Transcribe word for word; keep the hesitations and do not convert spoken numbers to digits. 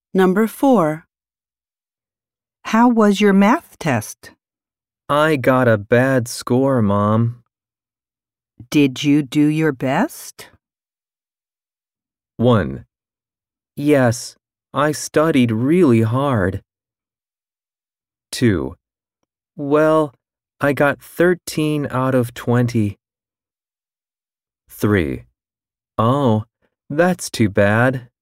Number four. How was your math test? I got a bad score, Mom. Did you do your best? one. Yes, I studied really hard. two. Well, I got thirteen out of twenty. three. Oh, that's too bad.